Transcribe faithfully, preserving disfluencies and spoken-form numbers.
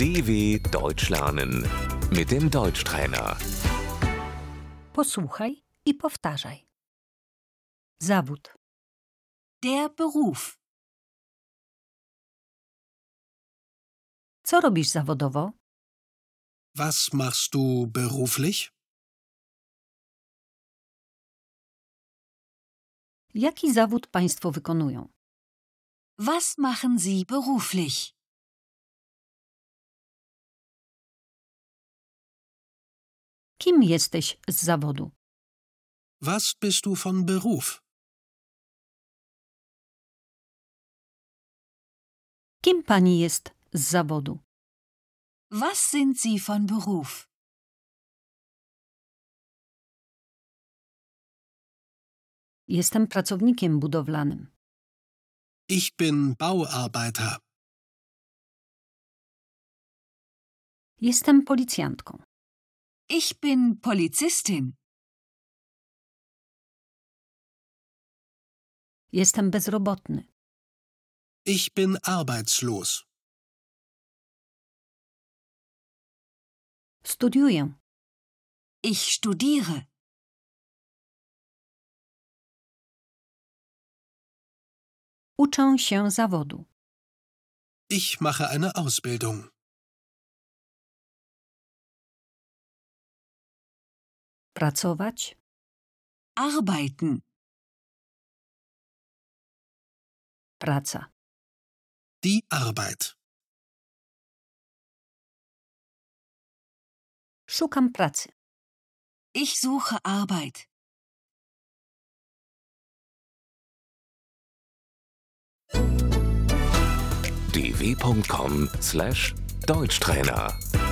D W Deutsch lernen mit dem Deutschtrainer. Posłuchaj i powtarzaj. Zawód. Der Beruf. Co robisz zawodowo? Was machst du beruflich? Jaki zawód państwo wykonują? Was machen Sie beruflich? Kim jesteś z zawodu? Was bist du von Beruf? Kim pani jest z zawodu? Was sind Sie von Beruf? Jestem pracownikiem budowlanym. Ich bin Bauarbeiter. Jestem policjantką. Ich bin Polizistin. Jestem bezrobotny. Ich bin arbeitslos. Studiuję. Ich studiere. Uczę się zawodu. Ich mache eine Ausbildung. Pracować. Arbeiten. Praca. Die Arbeit. Szukam pracy. Ich suche Arbeit. d w punkt com slash Deutschtrainer